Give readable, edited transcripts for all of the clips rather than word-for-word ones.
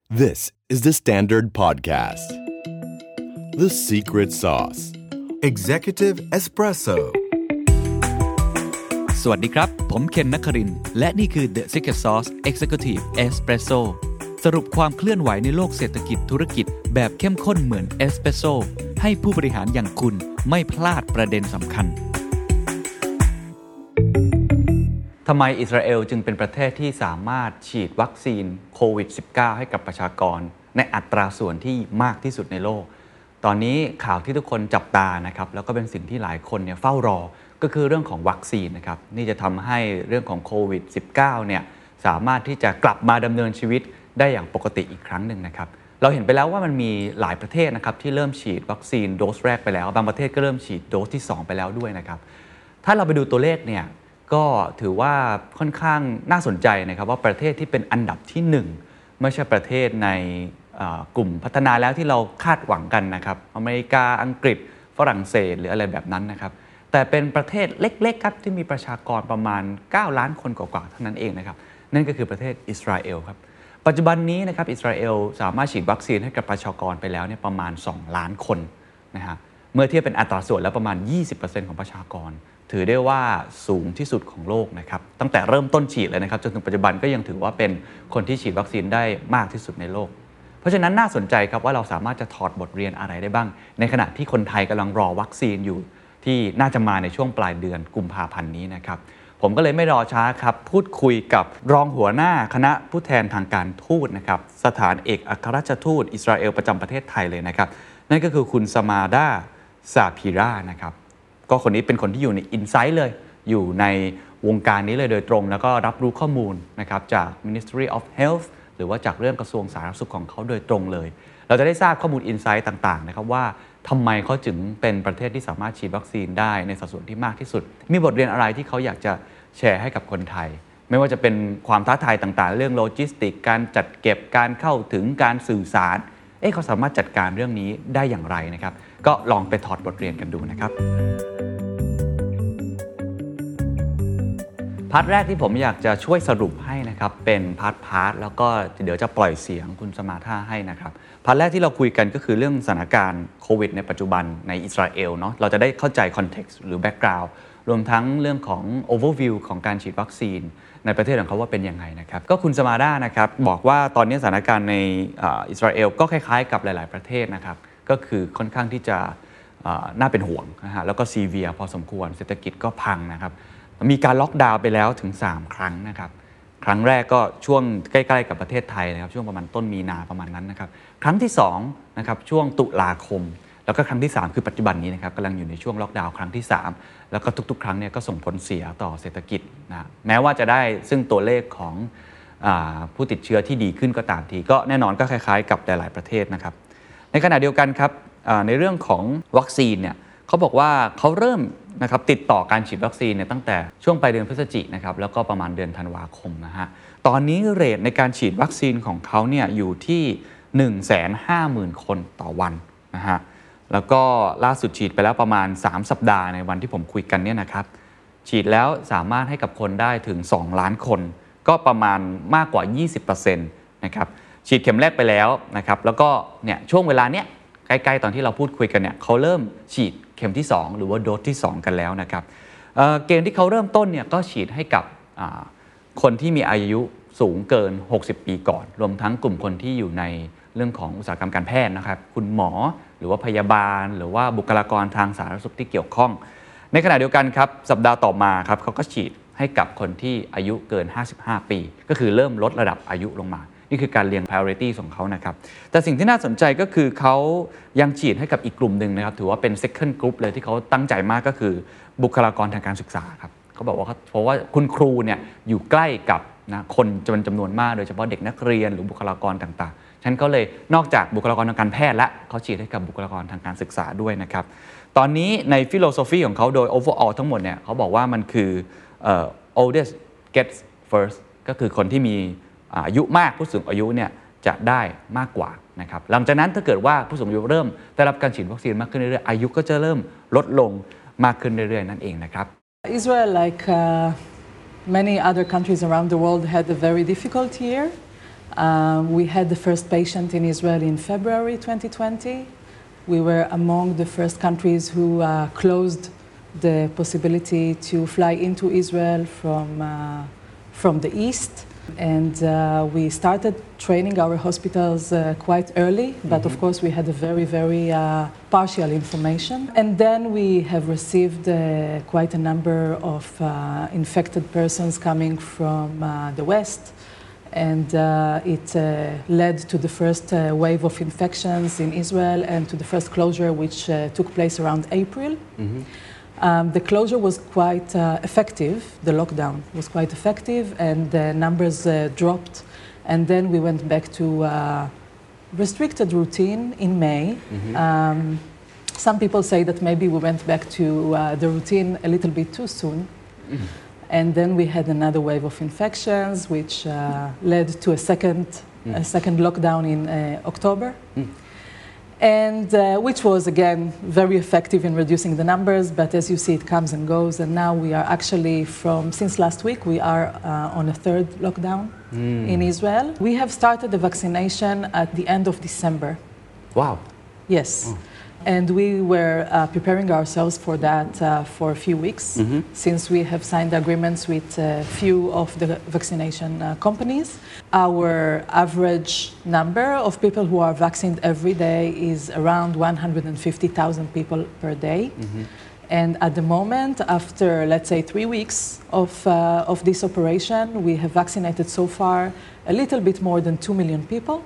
This is the Standard Podcast. The Secret Sauce. Executive Espresso. สวัสดีครับผมเคนนครินทร์และนี่คือ The Secret Sauce Executive Espresso สรุปความเคลื่อนไหวในโลกเศรษฐกิจธุรกิจแบบเข้มข้นเหมือนเอสเปรสโซ่ให้ผู้บริหารอย่างคุณไม่พลาดประเด็นสำคัญทำไมอิสราเอลจึงเป็นประเทศที่สามารถฉีดวัคซีนโควิด -19 ให้กับประชากรในอัตราส่วนที่มากที่สุดในโลกตอนนี้ข่าวที่ทุกคนจับตานะครับแล้วก็เป็นสิ่งที่หลายคนเฝ้ารอก็คือเรื่องของวัคซีนนะครับนี่จะทำให้เรื่องของโควิด -19 เนี่ยสามารถที่จะกลับมาดำเนินชีวิตได้อย่างปกติอีกครั้งหนึ่งนะครับเราเห็นไปแล้วว่ามันมีหลายประเทศนะครับที่เริ่มฉีดวัคซีนโดสแรกไปแล้วบางประเทศก็เริ่มฉีดโดสที่2ไปแล้วด้วยนะครับถ้าเราไปดูตัวเลขเนี่ยก็ถือว่าค่อนข้างน่าสนใจนะครับว่าประเทศที่เป็นอันดับที่1ไม่ใช่ประเทศในกลุ่มพัฒนาแล้วที่เราคาดหวังกันนะครับอเมริกาอังกฤษฝรั่งเศสหรืออะไรแบบนั้นนะครับแต่เป็นประเทศเล็กๆครับที่มีประชากรประมาณ9ล้านคนกว่าๆเท่านั้นเองนะครับนั่นก็คือประเทศอิสราเอลครับปัจจุบันนี้นะครับอิสราเอลสามารถฉีดวัคซีนให้กับประชากรไปแล้วเนี่ยประมาณ2ล้านคนนะฮะเมื่อเทียบเป็นอัตราส่วนแล้วประมาณ 20% ของประชากรถือได้ว่าสูงที่สุดของโลกนะครับตั้งแต่เริ่มต้นฉีดเลยนะครับจนถึงปัจจุบันก็ยังถือว่าเป็นคนที่ฉีดวัคซีนได้มากที่สุดในโลกเพราะฉะนั้นน่าสนใจครับว่าเราสามารถจะถอดบทเรียนอะไรได้บ้างในขณะที่คนไทยกำลังรอวัคซีนอยู่ที่น่าจะมาในช่วงปลายเดือนกุมภาพันธ์นี้นะครับผมก็เลยไม่รอช้าครับพูดคุยกับรองหัวหน้าคณะผู้แทนทางการทูตนะครับสถานเอกอัครราชทูตอิสราเอลประจำประเทศไทยเลยนะครับนั่นก็คือคุณสมาดาซาพีรานะครับก็คนนี้เป็นคนที่อยู่ใน Insight เลยอยู่ในวงการนี้เลยโดยตรงแล้วก็รับรู้ข้อมูลนะครับจาก Ministry of Health หรือว่าจากเรื่องกระทรวงสาธารณสุขของเขาโดยตรงเลยเราจะได้ทราบข้อมูล Insight ต่างๆนะครับว่าทำไมเขาจึงเป็นประเทศที่สามารถฉีดวัคซีนได้ในสัดส่วนที่มากที่สุดมีบทเรียนอะไรที่เขาอยากจะแชร์ให้กับคนไทยไม่ว่าจะเป็นความท้าทายต่างๆเรื่องโลจิสติกการจัดเก็บการเข้าถึงการสื่อสารเขาสามารถจัดการเรื่องนี้ได้อย่างไรนะครับก็ลองไปถอดบทเรียนกันดูนะครับพาร์ทแรกที่ผมอยากจะช่วยสรุปให้นะครับเป็นพาร์ทแล้วก็เดี๋ยวจะปล่อยเสียงคุณสมาธาให้นะครับพาร์ทแรกที่เราคุยกันก็คือเรื่องสถานการณ์โควิดในปัจจุบันในอิสราเอลเนาะเราจะได้เข้าใจคอนเท็กซ์หรือแบ็กกราวด์รวมทั้งเรื่องของโอเวอร์วิวของการฉีดวัคซีนในประเทศของเขาว่าเป็นยังไงนะครับก็คุณสมาดานะครับบอกว่าตอนนี้สถานการณ์ในอิสราเอลก็คล้ายๆกับหลายๆประเทศนะครับก็คือค่อนข้างที่จะน่าเป็นห่วงนะฮะแล้วก็ซีเวียพอสมควรเศรษฐกิจก็พังนะครับมีการล็อกดาวน์ไปแล้วถึง3ครั้งนะครับครั้งแรกก็ช่วงใกล้ๆกับประเทศไทยนะครับช่วงประมาณต้นมีนาประมาณนั้นนะครับครั้งที่2นะครับช่วงตุลาคมแล้วก็ครั้งที่3คือปัจจุบันนี้นะครับกำลังอยู่ในช่วงล็อกดาวน์ครั้งที่3แล้วก็ทุกๆครั้งเนี่ยก็ส่งผลเสียต่อเศรษฐกิจนะแม้ว่าจะได้ซึ่งตัวเลขของผู้ติดเชื้อที่ดีขึ้นก็ตามทีก็แน่นอนก็คล้ายๆกับหลายๆประเทศนะครับในขณะเดียวกันครับในเรื่องของวัคซีนเนี่ยเขาบอกว่าเขาเริ่มนะครับติดต่อการฉีดวัคซีนเนี่ยตั้งแต่ช่วงปลายเดือนพฤศจิกายนนะครับแล้วก็ประมาณเดือนธันวาคมนะฮะตอนนี้เรทในการฉีดวัคซีนของเขาเนี่ยอยู่ที่ 150,000 คนต่อวันนะฮะแล้วก็ล่าสุดฉีดไปแล้วประมาณ3สัปดาห์ในวันที่ผมคุยกันเนี่ยนะครับฉีดแล้วสามารถให้กับคนได้ถึง2ล้านคนก็ประมาณมากกว่า 20% นะครับฉีดเข็มแรกไปแล้วนะครับแล้วก็เนี่ยช่วงเวลาเนี้ยใกล้ๆตอนที่เราพูดคุยกันเนี่ยเขาเริ่มฉีดเข็มที่2หรือว่าโดสที่2กันแล้วนะครับเกณฑ์ที่เขาเริ่มต้นเนี่ยก็ฉีดให้กับคนที่มีอายุสูงเกิน60ปีก่อนรวมทั้งกลุ่มคนที่อยู่ในเรื่องของอุตสาหกรรมการแพทย์นะครับคุณหมอหรือว่าพยาบาลหรือว่าบุคลากรทางสาธารณสุขที่เกี่ยวข้องในขณะเดียวกันครับสัปดาห์ต่อมาครับเขาก็ฉีดให้กับคนที่อายุเกิน55ปีก็คือเริ่มลดระดับอายุลงมานี่คือการเรียง priority ของเขานะครับแต่สิ่งที่น่าสนใจก็คือเขายังฉีดให้กับอีกกลุ่มหนึ่งนะครับถือว่าเป็น second group เลยที่เขาตั้งใจมากก็คือบุคลากรทางการศึกษาครับเขาบอกว่าเพราะว่าคุณครูเนี่ยอยู่ใกล้กับนะคนจำนวนมากโดยเฉพาะเด็กนักเรียนหรือบุคลากรต่างๆฉะนั้นเขาเลยนอกจากบุคลากรทางการแพทย์และเขาฉีดให้กับบุคลากรทางการศึกษาด้วยนะครับตอนนี้ใน philosophy ของเขาโดย overall ทั้งหมดเนี่ยเขาบอกว่ามันคือoldest gets first ก็คือคนที่มีอายุมากผู้สูงอายุเนี่ยจะได้มากกว่านะครับหลังจากนั้นถ้าเกิดว่าผู้สูงอายุเริ่มได้รับการฉีดวัคซีนมากขึ้นเรื่อยๆอายุก็จะเริ่มลดลงมากขึ้นเรื่อยๆนั่นเองนะครับ Israel, like many other countries around the world, had a very difficult year. We had the first patient in Israel in February 2020. We were among the first countries who closed the possibility to fly into Israel from the east. And we started training our hospitals quite early, but of course we had a very, very partial information. And then we have received quite a number of infected persons coming from the west. And it led to the first wave of infections in Israel and to the first closure, which took place around April. The closure was quite effective. The lockdown was quite effective, and the numbers dropped. And then we went back to restricted routine in May. Some people say that maybe we went back to the routine a little bit too soon. And then we had another wave of infections, which led to a second lockdown in October. And which was, again, very effective in reducing the numbers. But as you see, it comes and goes. And now we are actually since last week, we are on a third lockdown in Israel. We have started the vaccination at the end of December. Wow. Yes. And we were preparing ourselves for that for a few weeks, since we have signed agreements with a few of the vaccination companies. Our average number of people who are vaccinated every day is around 150,000 people per day. And at the moment, after, let's say, 3 weeks of this operation, we have vaccinated so far a little bit more than 2 million people.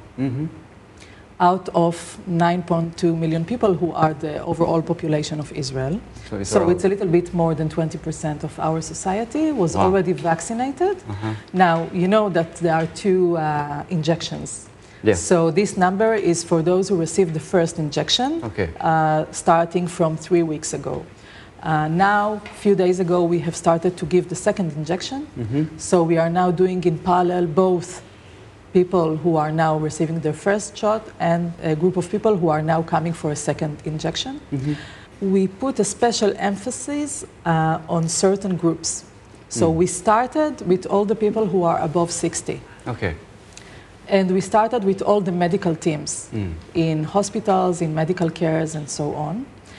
Out of 9.2 million people who are the overall population of Israel. So it's a little bit more than 20% of our society was already vaccinated. Now, you know that there are two injections. Yes. So this number is for those who received the first injection, starting from 3 weeks ago. Now, a few days ago, we have started to give the second injection. So we are now doing in parallel both people who are now receiving their first shot and a group of people who are now coming for a second injection. We put a special emphasis on certain groups. So we started with all the people who are above 60. Okay. And we started with all the medical teams in hospitals, in medical cares, and so on.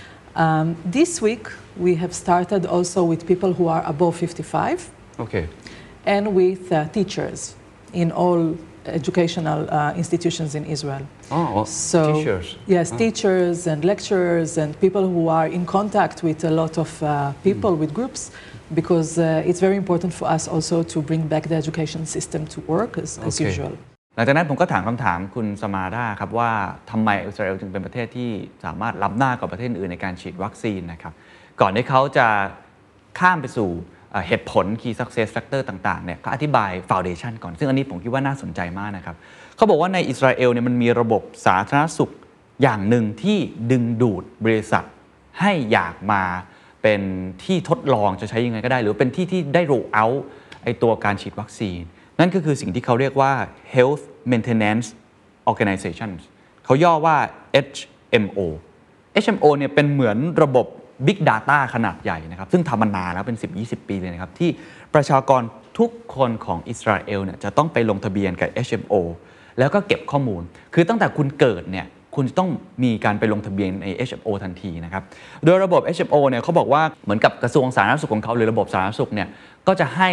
This week, we have started also with people who are above 55. Okay. And with teachers in all educational institutions in Israel. So teachers. Yes, teachers and lecturers and people who are in contact with a lot of people, with groups, because it's very important for us also to bring back the education system to work as usual. หลังจากนั้นผมก็ถามคำถามคุณสมาดาครับว่าทำไมอิสราเอลจึงเป็นประเทศที่สามารถล้ำหน้ากว่าประเทศอื่นในการฉีดวัคซีนนะครับก่อนที่เขาจะข้ามไปสู่เหตุผล Key Success Factor ต่างๆเนี่ยเขาอธิบาย Foundation ก่อนซึ่งอันนี้ผมคิดว่าน่าสนใจมากนะครับเขาบอกว่าในอิสราเอลเนี่ยมันมีระบบสาธารณสุขอย่างหนึ่งที่ดึงดูดบริษัทให้อยากมาเป็นที่ทดลองจะใช้ยังไงก็ได้หรือเป็นที่ได้ roll out ไอตัวการฉีดวัคซีนนั่นก็คือสิ่งที่เขาเรียกว่า Health Maintenance Organizations เขาย่อว่า HMO HMO เนี่ยเป็นเหมือนระบบ Big Data ขนาดใหญ่นะครับซึ่งทำมานานแล้วเป็น 10-20 ปีเลยนะครับที่ประชากรทุกคนของอิสราเอลเนี่ยจะต้องไปลงทะเบียนกับ HMO แล้วก็เก็บข้อมูลคือตั้งแต่คุณเกิดเนี่ยคุณจะต้องมีการไปลงทะเบียนใน HMO ทันทีนะครับโดยระบบ HMO เนี่ยเขาบอกว่าเหมือนกับกระทรวงสาธารณสุขของเขาหรือระบบสาธารณสุขเนี่ยก็จะให้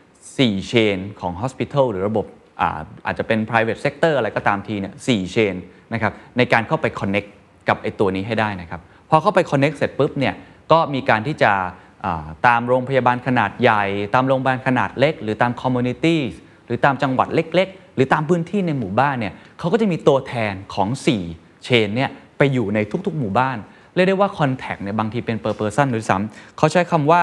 4 เชนของ Hospital หรือระบบอาจจะเป็น private sector อะไรก็ตามทีเนี่ย4 เชนนะครับในการเข้าไป connect กับไอ้ตัวนี้ให้ได้นะครับพอเข้าไป connect เสร็จปุ๊บเนี่ยก็มีการที่จะตามโรงพยาบาลขนาดใหญ่ตามโรงพยาบาลขนาดเล็กหรือตาม communities หรือตามจังหวัดเล็กๆหรือตามพื้นที่ในหมู่บ้านเนี่ยเขาก็จะมีตัวแทนของ4 เชนเนี่ยไปอยู่ในทุกๆหมู่บ้านเรียกได้ว่า contact เนี่ยบางทีเป็น per person หรือซ้ำเขาใช้คำว่า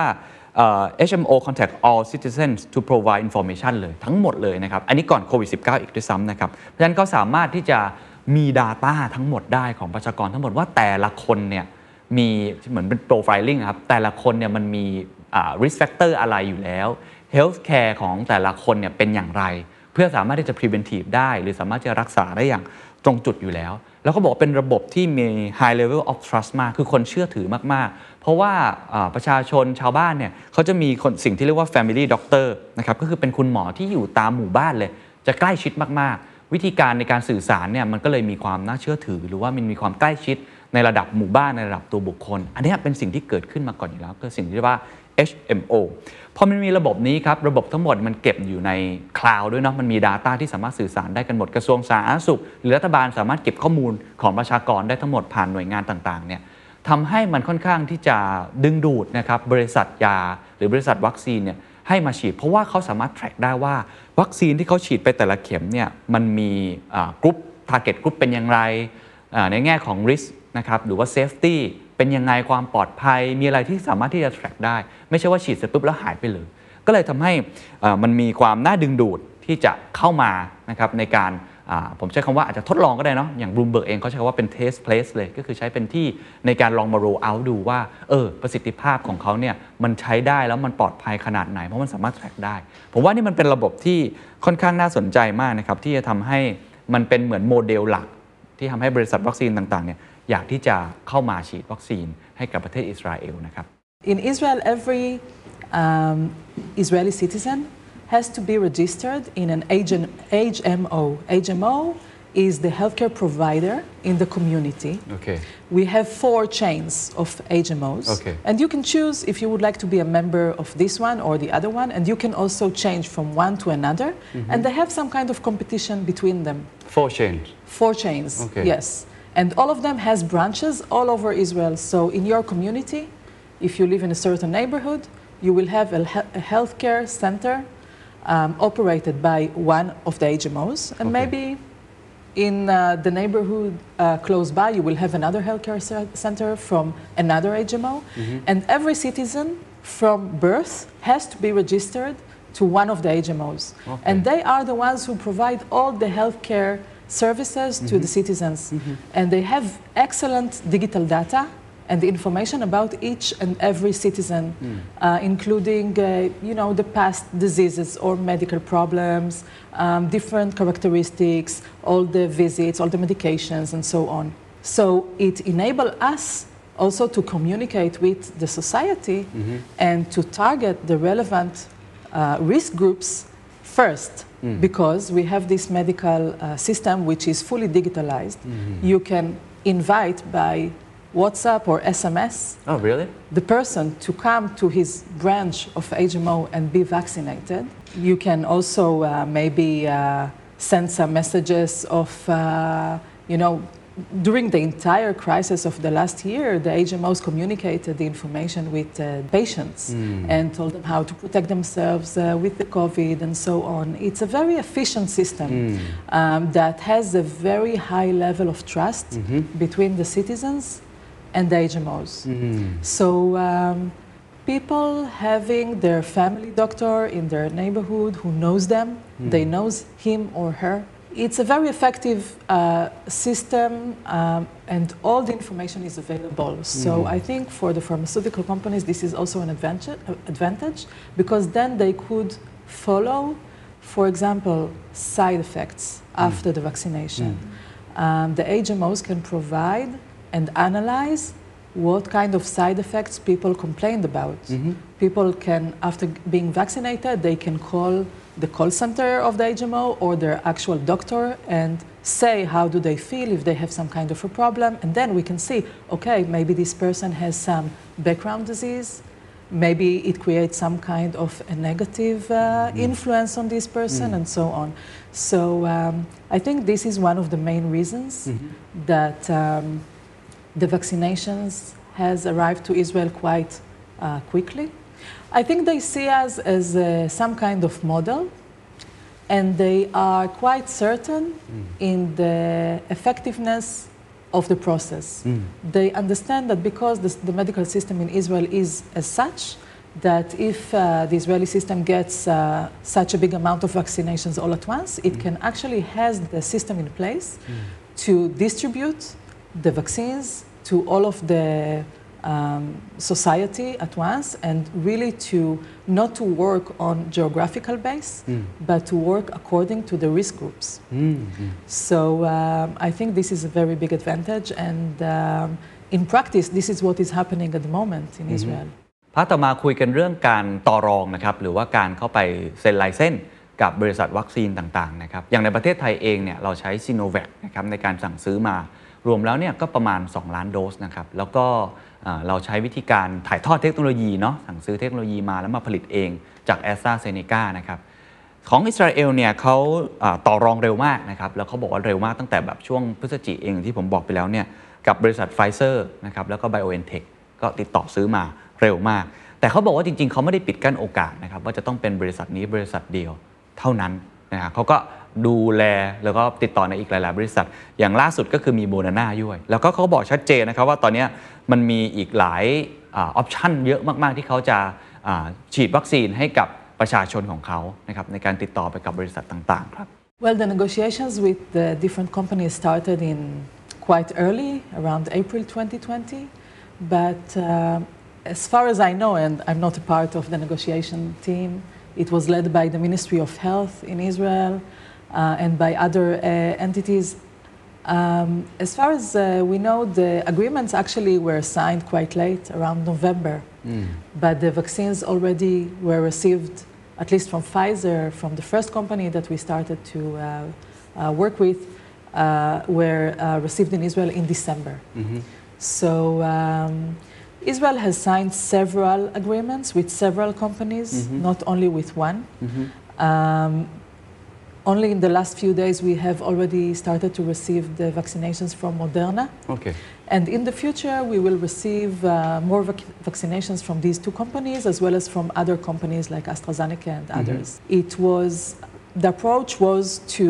HMO contact all citizens to provide information เลยทั้งหมดเลยนะครับอันนี้ก่อนโควิด -19 อีกด้วยซ้ำนะครับเพราะฉะนั้นเขาสามารถที่จะมี data ทั้งหมดได้ของประชากรทั้งหมดว่าแต่ละคนเนี่ยมีเหมือนเป็น profiling ครับแต่ละคนเนี่ยมันมีrisk factor อะไรอยู่แล้ว health care ของแต่ละคนเนี่ยเป็นอย่างไรเพื่อสามารถที่จะ preventive ได้หรือสามารถจะรักษาได้อย่างตรงจุดอยู่แล้วแล้วก็บอกเป็นระบบที่มี high level of trust มากคือคนเชื่อถือมากๆเพราะว่าประชาชนชาวบ้านเนี่ยเขาจะมีสิ่งที่เรียกว่า family doctor นะครับก็คือเป็นคุณหมอที่อยู่ตามหมู่บ้านเลยจะใกล้ชิดมากๆวิธีการในการสื่อสารเนี่ยมันก็เลยมีความน่าเชื่อถือหรือว่ามันมีความใกล้ชิดในระดับหมู่บ้านในระดับตัวบุคคลอันนี้เป็นสิ่งที่เกิดขึ้นมาก่อนอยู่แล้วคือสิ่งที่เรียกว่า HMO พอมันมีระบบนี้ครับระบบทั้งหมดมันเก็บอยู่ในคลาวด์ด้วยเนาะมันมี Data ที่สามารถสื่อสารได้กันหมดกระทรวงสาธารณสุขหรือรัฐบาลสามารถเก็บข้อมูลของประชากรได้ทั้งหมดผ่านหน่วยงานต่างๆเนี่ยทำให้มันค่อนข้างที่จะดึงดูดนะครับบริษัทยาหรือบริษัทวัคซีนเนี่ยให้มาฉีดเพราะว่าเขาสามารถ track ได้ว่าวัคซีนที่เขาฉีดไปแต่ละเข็มเนี่ยมันมีกรุ๊ป target group เป็นอย่างไรในแง่ของ risk นะครับหรือว่า safety เป็นยังไงความปลอดภัยมีอะไรที่สามารถที่จะ track ได้ไม่ใช่ว่าฉีดเสร็จปุ๊บแล้วหายไปเลยก็เลยทำให้มันมีความน่าดึงดูดที่จะเข้ามานะครับในการผมใช้คำว่าอาจจะทดลองก็ได้เนาะอย่าง Bloomberg เองเขาใช้คำว่าเป็น test place เลยก็คือใช้เป็นที่ในการลองมา roll out ดูว่าประสิทธิภาพของเขาเนี่ยมันใช้ได้แล้วมันปลอดภัยขนาดไหนเพราะมันสามารถ track ได้ผมว่านี่มันเป็นระบบที่ค่อนข้างน่าสนใจมากนะครับที่จะทำให้มันเป็นเหมือนโมเดลหลักที่ทำให้บริษัทวัคซีนต่างๆเนี่ยอยากที่จะเข้ามาฉีดวัคซีนให้กับประเทศอิสราเอลนะครับ In Israel, every Israeli citizen has to be registered in an HMO. HMO is the healthcare provider in the community. Okay. We have 4 chains of HMOs. Okay. And you can choose if you would like to be a member of this one or the other one, and you can also change from one to another. And they have some kind of competition between them. 4 chains. 4 chains, okay. Yes. And all of them has branches all over Israel. So in your community, if you live in a certain neighborhood, you will have a healthcare center operated by one of the HMOs, and okay. maybe in the neighborhood close by, you will have another healthcare center from another HMO, and every citizen from birth has to be registered to one of the HMOs, okay. and they are the ones who provide all the healthcare services to the citizens, and they have excellent digital data and the information about each and every citizen, including, the past diseases or medical problems, different characteristics, all the visits, all the medications, and so on. So it enables us also to communicate with the society and to target the relevant risk groups first, because we have this medical system which is fully digitalized. You can invite by WhatsApp or SMS Oh, really? the person to come to his branch of HMO and be vaccinated. You can also maybe send some messages of, during the entire crisis of the last year, the HMOs communicated the information with patients and told them how to protect themselves with the COVID and so on. It's a very efficient system that has a very high level of trust between the citizens and the HMOs. So people having their family doctor in their neighborhood who knows them, they knows him or her. It's a very effective system and all the information is available. So I think for the pharmaceutical companies this is also an advantage because then they could follow, for example, side effects after the vaccination. The HMOs can provide and analyze what kind of side effects people complained about. People can, after being vaccinated, they can call the call center of the HMO or their actual doctor and say how do they feel, if they have some kind of a problem, and then we can see, okay, maybe this person has some background disease, maybe it creates some kind of a negative influence on this person and so on. So I think this is one of the main reasons that the vaccinations has arrived to Israel quite quickly. I think they see us as some kind of model, and they are quite certain in the effectiveness of the process. They understand that because the medical system in Israel is as such, that if the Israeli system gets such a big amount of vaccinations all at once, it can actually has the system in place to distribute the vaccines to all of the society at once, and really to not to work on geographical base, but to work according to the risk groups. So I think this is a very big advantage, and in practice, this is what is happening at the moment in Israel. พาร์ทต่อมาคุยกันเรื่องการต่อรองนะครับหรือว่าการเข้าไปเซ็นไลเซนส์กับบริษัทวัคซีนต่างๆนะครับอย่างในประเทศไทยเองเนี่ยเราใช้ซิโนแวคนะครับในการสั่งซื้อมารวมแล้วเนี่ยก็ประมาณ2ล้านโดสนะครับแล้วก็เราใช้วิธีการถ่ายทอดเทคโนโลยีเนาะสั่งซื้อเทคโนโลยีมาแล้วมาผลิตเองจาก AstraZeneca นะครับของอิสราเอลเนี่ยเขาต่อรองเร็วมากนะครับแล้วเขาบอกว่าเร็วมากตั้งแต่แบบช่วงพฤศจิกายนเองที่ผมบอกไปแล้วเนี่ยกับบริษัทไฟเซอร์นะครับแล้วก็ BioNTech ก็ติดต่อซื้อมาเร็วมากแต่เขาบอกว่าจริงๆเขาไม่ได้ปิดกั้นโอกาสนะครับว่าจะต้องเป็นบริษัทนี้บริษัทเดียวเท่านั้นนะครับเขาก็ดูแลแล้วก็ติดต่อในอีกหลายๆบริษัทอย่างล่าสุดก็คือมีโมเดอร์นาด้วยแล้วก็เขาบอกชัดเจนนะครับว่าตอนนี้มันมีอีกหลายออปชั่นเยอะมากๆที่เขาจะฉีดวัคซีนให้กับประชาชนของเขานะครับในการติดต่อไปกับบริษัทต่างๆครับ Well, the negotiations with the different companies started in quite early, around April 2020, but as far as I know, and I'm not a part of the negotiation team, it was led by the Ministry of Health in Israel and by other entities. As far as we know, the agreements actually were signed quite late, around November, but the vaccines already were received, at least from Pfizer, from the first company that we started to work with, were received in Israel in December. So Israel has signed several agreements with several companies, not only with one. Only in the last few days we have already started to receive the vaccinations from Moderna. Okay. And in the future we will receive more vaccinations from these two companies as well as from other companies like AstraZeneca and others. The approach was to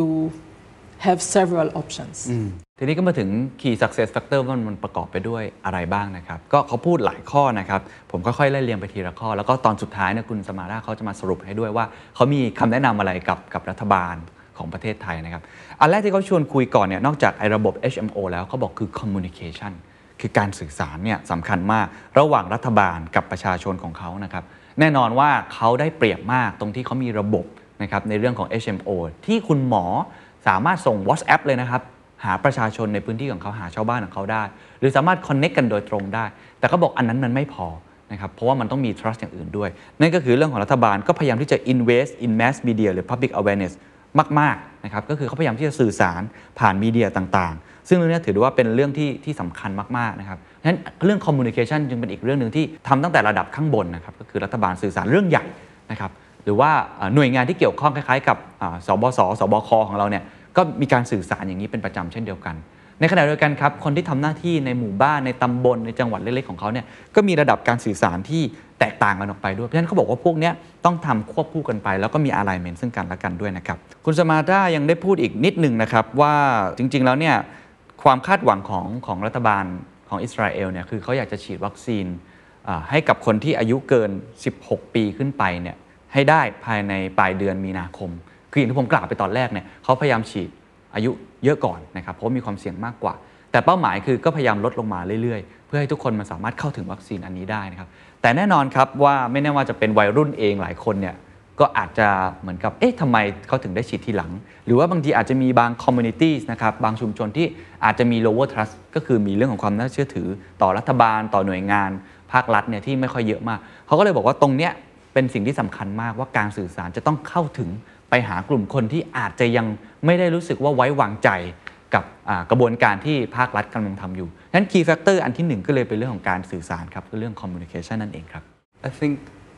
have several options. ทีนี้ก็มาถึง Key Success Factor ว่ามันประกอบไปด้วยอะไรบ้างนะครับก็เขาพูดหลายข้อนะครับผมค่อยๆไล่เรียงไปทีละข้อแล้วก็ตอนสุดท้ายเนี่ยคุณสมาราเขาจะมาสรุปให้ด้วยว่าเขามีคำแนะนำอะไรกับรัฐบาลของประเทศไทยนะครับอันแรกที่เขาชวนคุยก่อนเนี่ยนอกจากไอ้ระบบ HMO แล้วเขาบอกคือ Communication คือการสื่อสารเนี่ยสำคัญมากระหว่างรัฐบาลกับประชาชนของเขานะครับแน่นอนว่าเขาได้เปรียบมากตรงที่เขามีระบบนะครับในเรื่องของ HMO ที่คุณหมอสามารถส่ง WhatsApp เลยนะครับหาประชาชนในพื้นที่ของเขาหาชาวบ้านของเขาได้หรือสามารถ connect กันโดยตรงได้แต่เขาบอกอันนั้นมันไม่พอนะครับเพราะว่ามันต้องมี trust อย่างอื่นด้วยนั่นก็คือเรื่องของรัฐบาลก็พยายามที่จะ invest in mass media หรือ public awareness มากๆนะครับก็คือเขาพยายามที่จะสื่อสารผ่านมีเดียต่างๆซึ่งเรื่องนี้ถือว่าเป็นเรื่องที่สำคัญมากๆนะครับฉะนั้นเรื่อง communication จึงเป็นอีกเรื่องนึงที่ทำตั้งแต่ระดับข้างบนนะครับก็คือรัฐบาลสื่อสารเรื่องใหญ่นะครับหรือว่าหน่วยงานที่เกี่ยวข้องคล้ายๆกับสบส.สบค.ของเราเนี่ยก็มีการสื่อสารอย่างนี้เป็นประจำเช่นเดียวกันในขณะเดียวกันครับคนที่ทำหน้าที่ในหมู่บ้านในตำบลในจังหวัดเล็กๆของเขาเนี่ยก็มีระดับการสื่อสารที่แตกต่างกันออกไปด้วยเพราะฉะนั้นเขาบอกว่าพวกนี้ต้องทำควบคู่กันไปแล้วก็มี alignment ซึ่งกันและกันด้วยนะครับคุณสมาร์ตายังได้พูดอีกนิดนึงนะครับว่าจริงๆแล้วเนี่ยความคาดหวังของรัฐบาลของอิสราเอลเนี่ยคือเขาอยากจะฉีดวัคซีนให้กับคนที่อายุเกิน16ปีขึ้นไปเนี่ยให้ได้ภายในปลายเดือนมีนาคมคืออย่างที่ผมกล่าวไปตอนแรกเนี่ยเขาพยายามฉีดอายุเยอะก่อนนะครับเพราะมีความเสี่ยงมากกว่าแต่เป้าหมายคือก็พยายามลดลงมาเรื่อยๆเพื่อให้ทุกคนมันสามารถเข้าถึงวัคซีนอันนี้ได้นะครับแต่แน่นอนครับว่าไม่แน่ว่าจะเป็นวัยรุ่นเองหลายคนเนี่ยก็อาจจะเหมือนกับทำไมเขาถึงได้ฉีดทีหลังหรือว่าบางทีอาจจะมีบาง communities นะครับบางชุมชนที่อาจจะมี lower trust ก็คือมีเรื่องของความน่าเชื่อถือต่อรัฐบาลต่อหน่วยงานภาครัฐเนี่ยที่ไม่ค่อยเยอะมากเขาก็เลยบอกว่าตรงเนี้ยเป็นสิ่งที่สำคัญมากว่าการสื่อสารจะต้องเข้าถึงไปหากลุ่มคนที่อาจจะยังไม่ได้รู้สึกว่าไว้วางใจกับกระบวนการที่ภาครัฐกำลังทำอยู่นั้น key factor อันที่1ก็เลยเป็นเรื่องของการสื่อสารครับคือเรื่อง communication นั่นเองครับ I think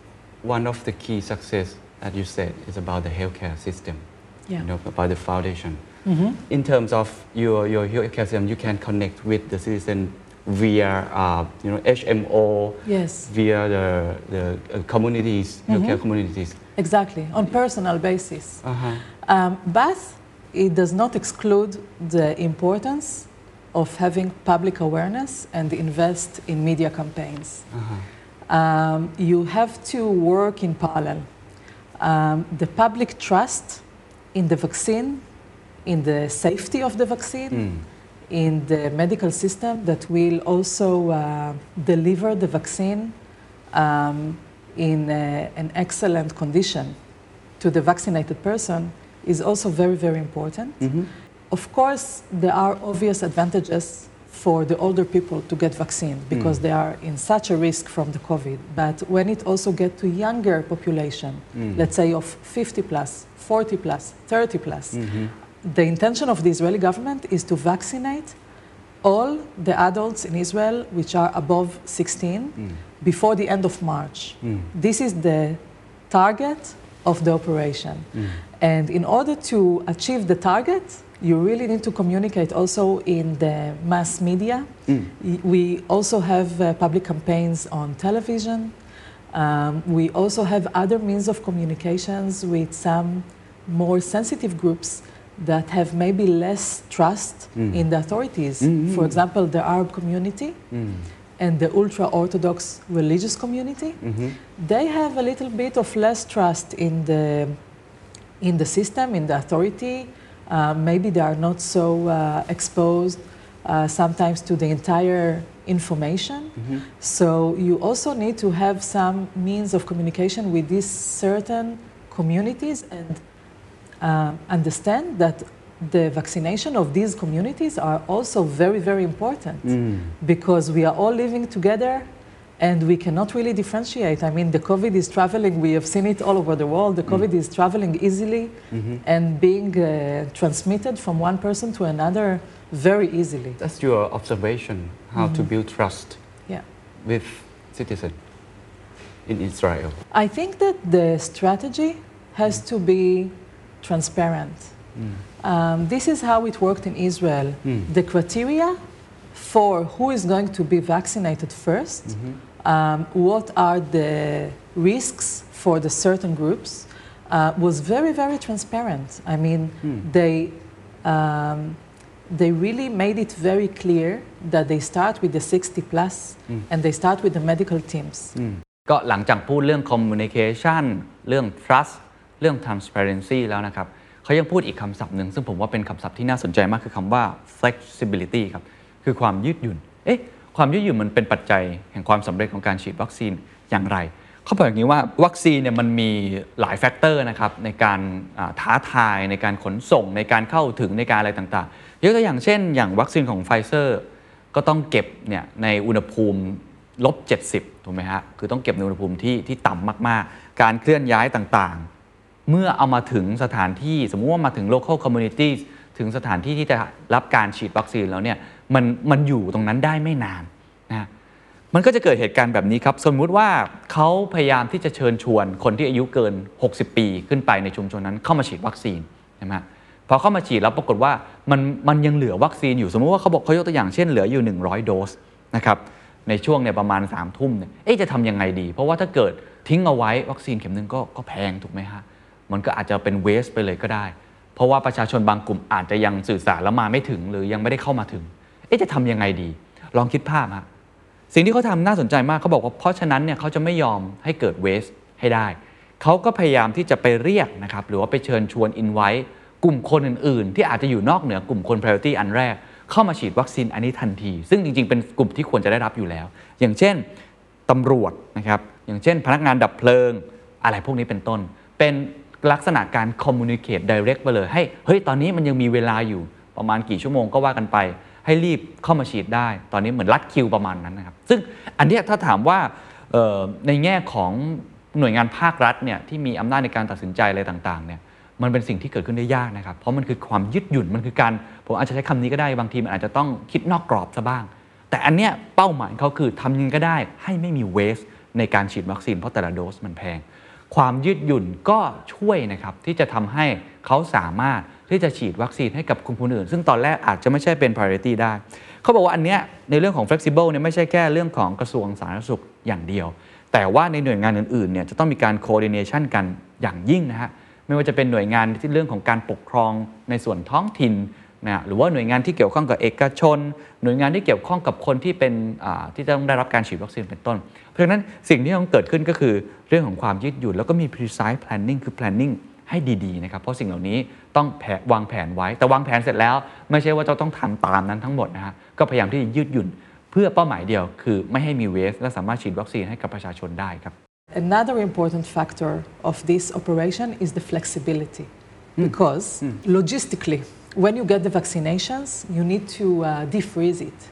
one of the key success that you said is about the healthcare system, about the foundation. In terms of your healthcare system, you can connect with the citizen via HMO, via the communities, healthcare communities. Exactly, on personal basis. But it does not exclude the importance of having public awareness and invest in media campaigns. You have to work in parallel. The public trust in the vaccine, in the safety of the vaccine, in the medical system that will also deliver the vaccine in an excellent condition to the vaccinated person is also very, very important. Of course, there are obvious advantages for the older people to get vaccine because they are in such a risk from the COVID. But when it also gets to younger population, let's say of 50 plus, 40 plus, 30 plus, the intention of the Israeli government is to vaccinate all the adults in Israel which are above 16 before the end of March. This is the target of the operation. And in order to achieve the target, you really need to communicate also in the mass media. We also have public campaigns on television. We also have other means of communications with some more sensitive groups that have maybe less trust in the authorities. For example, the Arab community and the ultra-Orthodox religious community. They have a little bit of less trust in the system, in the authority. Maybe they are not so exposed sometimes to the entire information. So you also need to have some means of communication with these certain communities and understand that the vaccination of these communities are also very, very important because we are all living together and we cannot really differentiate. I mean, the COVID is traveling, we have seen it all over the world, the COVID is traveling easily and being transmitted from one person to another very easily. That's your observation, how to build trust with citizens in Israel. I think that the strategy has to be transparent. This is how it worked in Israel. The criteria for who is going to be vaccinated first, what are the risks for the certain groups, was very, very transparent. I mean, they really made it very clear that they start with the 60 plus and they start with the medical teams. ก็หลังจากพูดเรื่อง communication เรื่อง trust เรื่อง transparency แล้วนะครับเขายังพูดอีกคำศัพท์หนึ่งซึ่งผมว่าเป็นคำศัพท์ที่น่าสนใจมากคือคำว่า flexibility ครับคือความยืดหยุ่นความยืดหยุ่นมันเป็นปัจจัยแห่งความสำเร็จของการฉีดวัคซีนอย่างไรเขาบอกอย่างนี้ว่าวัคซีนเนี่ยมันมีหลายแฟกเตอร์นะครับในการท้าทายในการขนส่งในการเข้าถึงในการอะไรต่างๆยกตัวอย่างเช่นอย่างวัคซีนของไฟเซอร์ก็ต้องเก็บเนี่ยในอุณหภูมิ-70ถูกไหมฮะคือต้องเก็บในอุณหภูมิที่ต่ำมากๆการเคลื่อนย้ายต่างๆเมื่อเอามาถึงสถานที่สมมุติว่ามาถึง local communities ถึงสถานที่ที่จะรับการฉีดวัคซีนแล้วเนี่ยมันอยู่ตรงนั้นได้ไม่นานนะมันก็จะเกิดเหตุการณ์แบบนี้ครับสมมุติว่าเขาพยายามที่จะเชิญชวนคนที่อายุเกิน60ปีขึ้นไปในชุมชนนั้นเข้ามาฉีดวัคซีนใช่ไหมพอเข้ามาฉีดแล้วปรากฏว่ามันยังเหลือวัคซีนอยู่สมมุติว่าเขายกตัวอย่างเช่นเหลืออยู่100โดสนะครับในช่วงเนี่ยประมาณ3 ทุ่มเนี่ยจะทำยังไงดีเพราะว่าถ้าเกิดทิ้งเอาไว้วัคซีนเข็มนึงก็แพงถูกไหมฮะมันก็อาจจะเป็นเวสไปเลยก็ได้เพราะว่าประชาชนบางกลุ่มอาจจะยังสื่อสารแล้วมาไม่ถึงหรือยังไม่ได้เข้ามาถึงจะทำยังไงดีลองคิดภาพฮะสิ่งที่เขาทำน่าสนใจมากเขาบอกว่าเพราะฉะนั้นเนี่ยเขาจะไม่ยอมให้เกิดเวสให้ได้เขาก็พยายามที่จะไปเรียกนะครับหรือว่าไปเชิญชวนอินไว้กลุ่มคนอื่นๆที่อาจจะอยู่นอกเหนือกลุ่มคน priority อันแรกเข้ามาฉีดวัคซีนอันนี้ทันทีซึ่งจริงๆเป็นกลุ่มที่ควรจะได้รับอยู่แล้วอย่างเช่นตำรวจนะครับอย่างเช่นพนักงานดับเพลิงอะไรพวกนี้เป็นต้นเป็นลักษณะการ communicate direct ไปเลยเฮ้ยตอนนี้มันยังมีเวลาอยู่ประมาณกี่ชั่วโมงก็ว่ากันไปให้รีบเข้ามาฉีดได้ตอนนี้เหมือนรัดคิวประมาณนั้นนะครับซึ่งอันนี้ถ้าถามว่าในแง่ของหน่วยงานภาครัฐเนี่ยที่มีอำนาจในการตัดสินใจอะไรต่างๆเนี่ยมันเป็นสิ่งที่เกิดขึ้นได้ยากนะครับเพราะมันคือความยืดหยุ่นมันคือการผมอาจจะใช้คำนี้ก็ได้บางทีมันอาจจะต้องคิดนอกกรอบซะบ้างแต่อันเนี้ยเป้าหมายเขาคือทำยังไงก็ได้ให้ไม่มีเวสในการฉีดวัคซีนเพราะแต่ละโดสมันแพงความยืดหยุ่นก็ช่วยนะครับที่จะทำให้เขาสามารถที่จะฉีดวัคซีนให้กับคนอื่นซึ่งตอนแรกอาจจะไม่ใช่เป็น priority ได้เขาบอกว่าอันเนี้ยในเรื่องของ flexible เนี่ยไม่ใช่แค่เรื่องของกระทรวงสาธารณสุขอย่างเดียวแต่ว่าในหน่วยงานอื่นๆเนี่ยจะต้องมีการ coordination กันอย่างยิ่งนะฮะไม่ว่าจะเป็นหน่วยงานที่เรื่องของการปกครองในส่วนท้องถิ่นนะหรือว่าหน่วยงานที่เกี่ยวข้องกับเอกชนหน่วยงานที่เกี่ยวข้องกับคนที่เป็นที่ต้องได้รับการฉีดวัคซีนเป็นต้นเพราะฉะนั้นสิ่งที่ต้องเกิดขึ้นก็คือเรื่องของความยืดหยุ่นแล้วก็มี precise planning คือ planning ให้ดีๆนะครับเพราะสิ่งเหล่านี้ต้องวางแผนไว้แต่วางแผนเสร็จแล้วไม่ใช่ว่าจะต้องทำตามนั้นทั้งหมดนะฮะก็พยายามที่จะยืดหยุ่นเพื่อเป้าหมายเดียวคือไม่ให้มีเวสและสามารถฉีดวัคซีนให้กับประชาชนได้ครับ Another important factor of this operation is the flexibility because logistically when you get the vaccinations you need to defreeze it